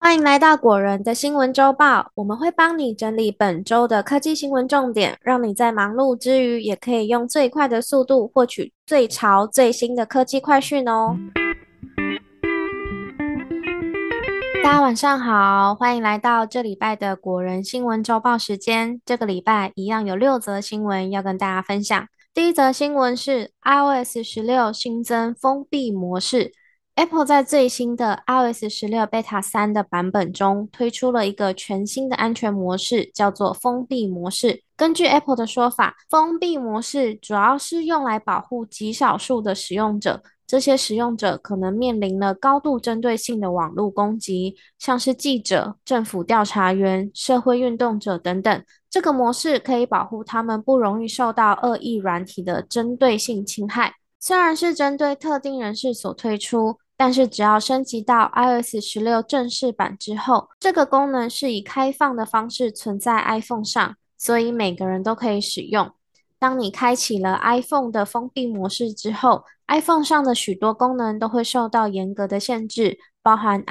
欢迎来到果仁的新闻周报，我们会帮你整理本周的科技新闻重点，让你在忙碌之余也可以用最快的速度获取最潮最新的科技快讯哦。大家晚上好，欢迎来到这礼拜的果仁新闻周报时间。这个礼拜一样有6则新闻要跟大家分享。第一则新闻是 iOS 16新增封闭模式。Apple 在最新的 iOS 16 Beta 3的版本中推出了一个全新的安全模式，叫做封闭模式。根据 Apple 的说法，封闭模式主要是用来保护极少数的使用者，这些使用者可能面临了高度针对性的网络攻击，像是记者、政府调查员、社会运动者等等。这个模式可以保护他们不容易受到恶意软体的针对性侵害。虽然是针对特定人士所推出，但是只要升级到 iOS 16正式版之后，这个功能是以开放的方式存在 iPhone 上，所以每个人都可以使用。当你开启了 iPhone 的封闭模式之后，iPhone 上的许多功能都会受到严格的限制，包含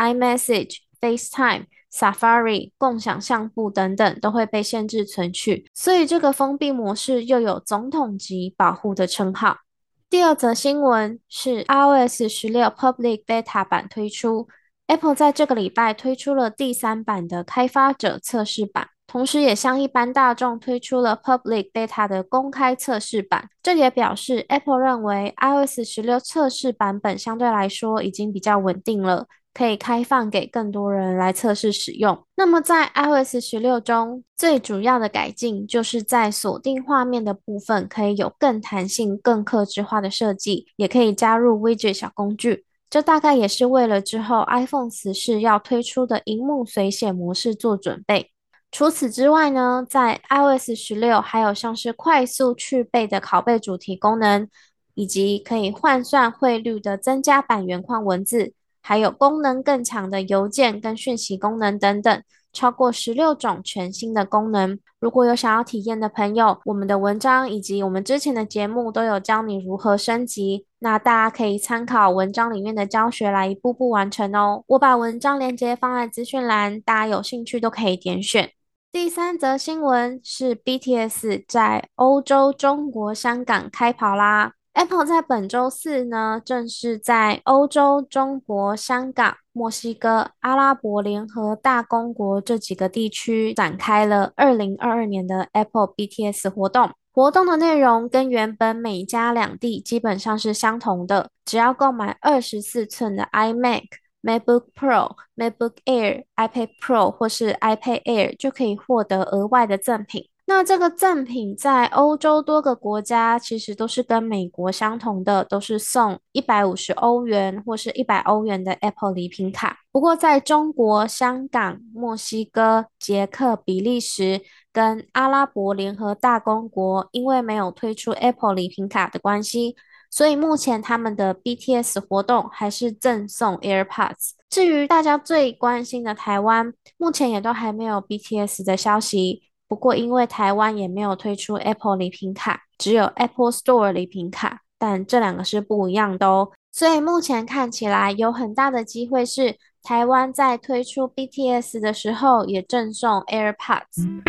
iMessage、FaceTime、Safari、共享相簿等等都会被限制存取，所以这个封闭模式又有总统级保护的称号。第二则新闻是 iOS 16 Public Beta 版推出，Apple 在这个礼拜推出了第3版的开发者测试版，同时也向一般大众推出了 Public Beta 的公开测试版。这也表示 Apple 认为 iOS 16测试版本相对来说已经比较稳定了，可以开放给更多人来测试使用。那么在 iOS 16中，最主要的改进就是在锁定画面的部分可以有更弹性、更客制化的设计，也可以加入 Widget 小工具。这大概也是为了之后 iPhone 14要推出的萤幕随写模式做准备。除此之外呢，在 iOS 16还有像是快速去背的拷贝主题功能，以及可以换算汇率的增加版原框文字，还有功能更强的邮件跟讯息功能等等，超过16种全新的功能。如果有想要体验的朋友，我们的文章以及我们之前的节目都有教你如何升级，那大家可以参考文章里面的教学来一步步完成哦。我把文章链接放在资讯栏，大家有兴趣都可以点选。第三则新闻是 BTS 在欧洲、中国、香港开跑啦。Apple 在本周四呢，正式在欧洲、中国、香港、墨西哥、阿拉伯联合大公国这几个地区展开了2022年的 Apple BTS 活动。活动的内容跟原本美加两地基本上是相同的，只要购买24寸的 iMac、MacBook Pro、MacBook Air、iPad Pro 或是 iPad Air 就可以获得额外的赠品。那这个赠品在欧洲多个国家其实都是跟美国相同的，都是送150欧元或是100欧元的 Apple 礼品卡。不过在中国、香港、墨西哥、捷克、比利时跟阿拉伯联合大公国，因为没有推出 Apple 礼品卡的关系，所以目前他们的 BTS 活动还是赠送 AirPods。至于大家最关心的台湾，目前也都还没有 BTS 的消息。不过因为台湾也没有推出 Apple 礼品卡，只有 Apple Store 礼品卡，但这两个是不一样的哦。所以目前看起来有很大的机会是台湾在推出 BTS 的时候也赠送 AirPods。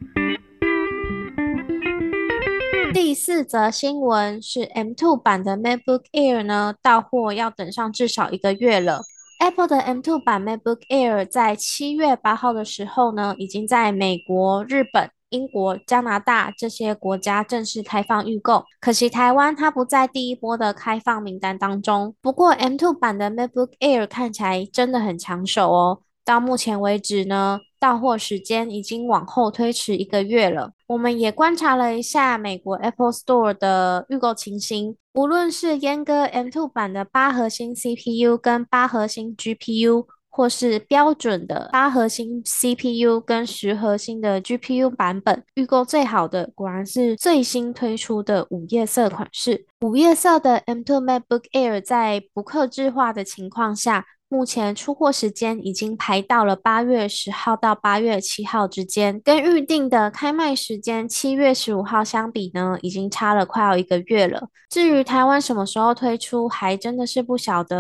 第四则新闻是 M2 版的 MacBook Air 呢，到货要等上至少1个月了。Apple 的 M2 版 MacBook Air 在7月8号的时候呢，已经在美国、日本、英国、加拿大这些国家正式开放预购。可惜台湾它不在第一波的开放名单当中。不过 M2 版的 MacBook Air 看起来真的很抢手哦。到目前为止呢，到货时间已经往后推迟1个月了。我们也观察了一下美国 Apple Store 的预购情形，无论是阉割 M2 版的8核心 CPU 跟8核心 GPU，或是标准的8核心 CPU 跟10核心的 GPU 版本，预购最好的果然是最新推出的午夜色款式。午夜色的 M2 MacBook Air 在不客制化的情况下，目前出货时间已经排到了8月10号到8月7号之间，跟预定的开卖时间7月15号相比呢，已经差了快要1个月了。至于台湾什么时候推出，还真的是不晓得。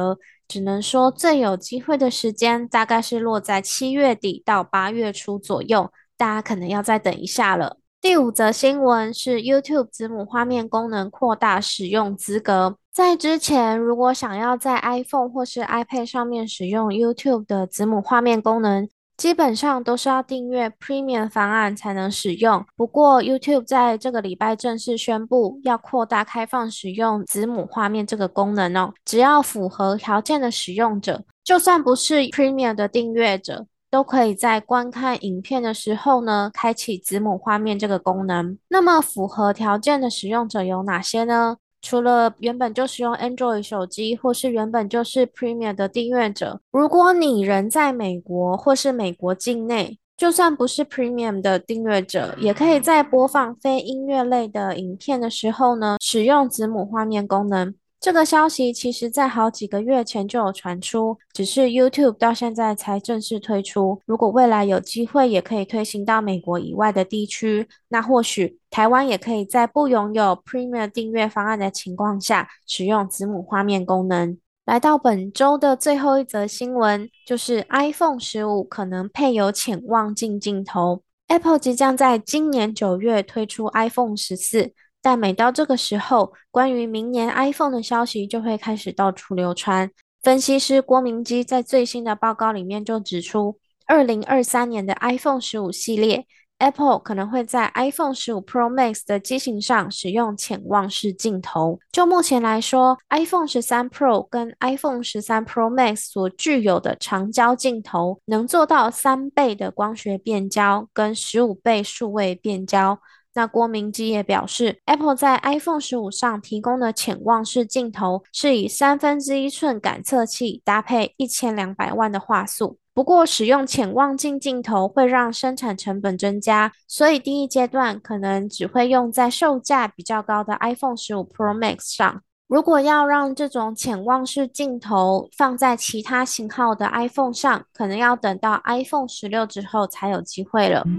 只能说最有机会的时间大概是落在7月底到8月初左右，大家可能要再等一下了。第五则新闻是 YouTube 子母画面功能扩大使用资格。在之前，如果想要在 iPhone 或是 iPad 上面使用 YouTube 的子母画面功能，基本上都是要订阅 Premium 方案才能使用。不过，YouTube 在这个礼拜正式宣布要扩大开放使用子母画面这个功能哦。只要符合条件的使用者，就算不是 Premium 的订阅者，都可以在观看影片的时候呢，开启子母画面这个功能。那么，符合条件的使用者有哪些呢？除了原本就使用 Android 手机，或是原本就是 Premium 的订阅者，如果你人在美国或是美国境内，就算不是 Premium 的订阅者，也可以在播放非音乐类的影片的时候呢，使用子母画面功能。这个消息其实在好几个月前就有传出，只是 YouTube 到现在才正式推出。如果未来有机会，也可以推行到美国以外的地区，那或许台湾也可以在不拥有 Premium 订阅方案的情况下，使用子母画面功能。来到本周的最后一则新闻，就是 iPhone 15可能配有潜望镜镜头。Apple 即将在今年9月推出 iPhone 14。但每到这个时候，关于明年 iPhone 的消息就会开始到处流传。分析师郭明基在最新的报告里面就指出，2023年的 iPhone 15系列，Apple 可能会在 iPhone 15 Pro Max 的机型上使用潜望式镜头。就目前来说，iPhone 13 Pro 跟 iPhone 13 Pro Max 所具有的长焦镜头，能做到3倍的光学变焦跟15倍数位变焦。那郭明基也表示，Apple 在 iPhone 15上提供的潜望式镜头是以1/3寸感测器搭配1200万的画素。不过，使用潜望镜镜头会让生产成本增加，所以第一阶段可能只会用在售价比较高的 iPhone 15 Pro Max 上。如果要让这种潜望式镜头放在其他型号的 iPhone 上，可能要等到 iPhone 16之后才有机会了。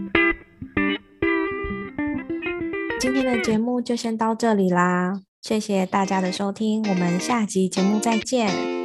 今天的节目就先到这里啦，谢谢大家的收听，我们下集节目再见。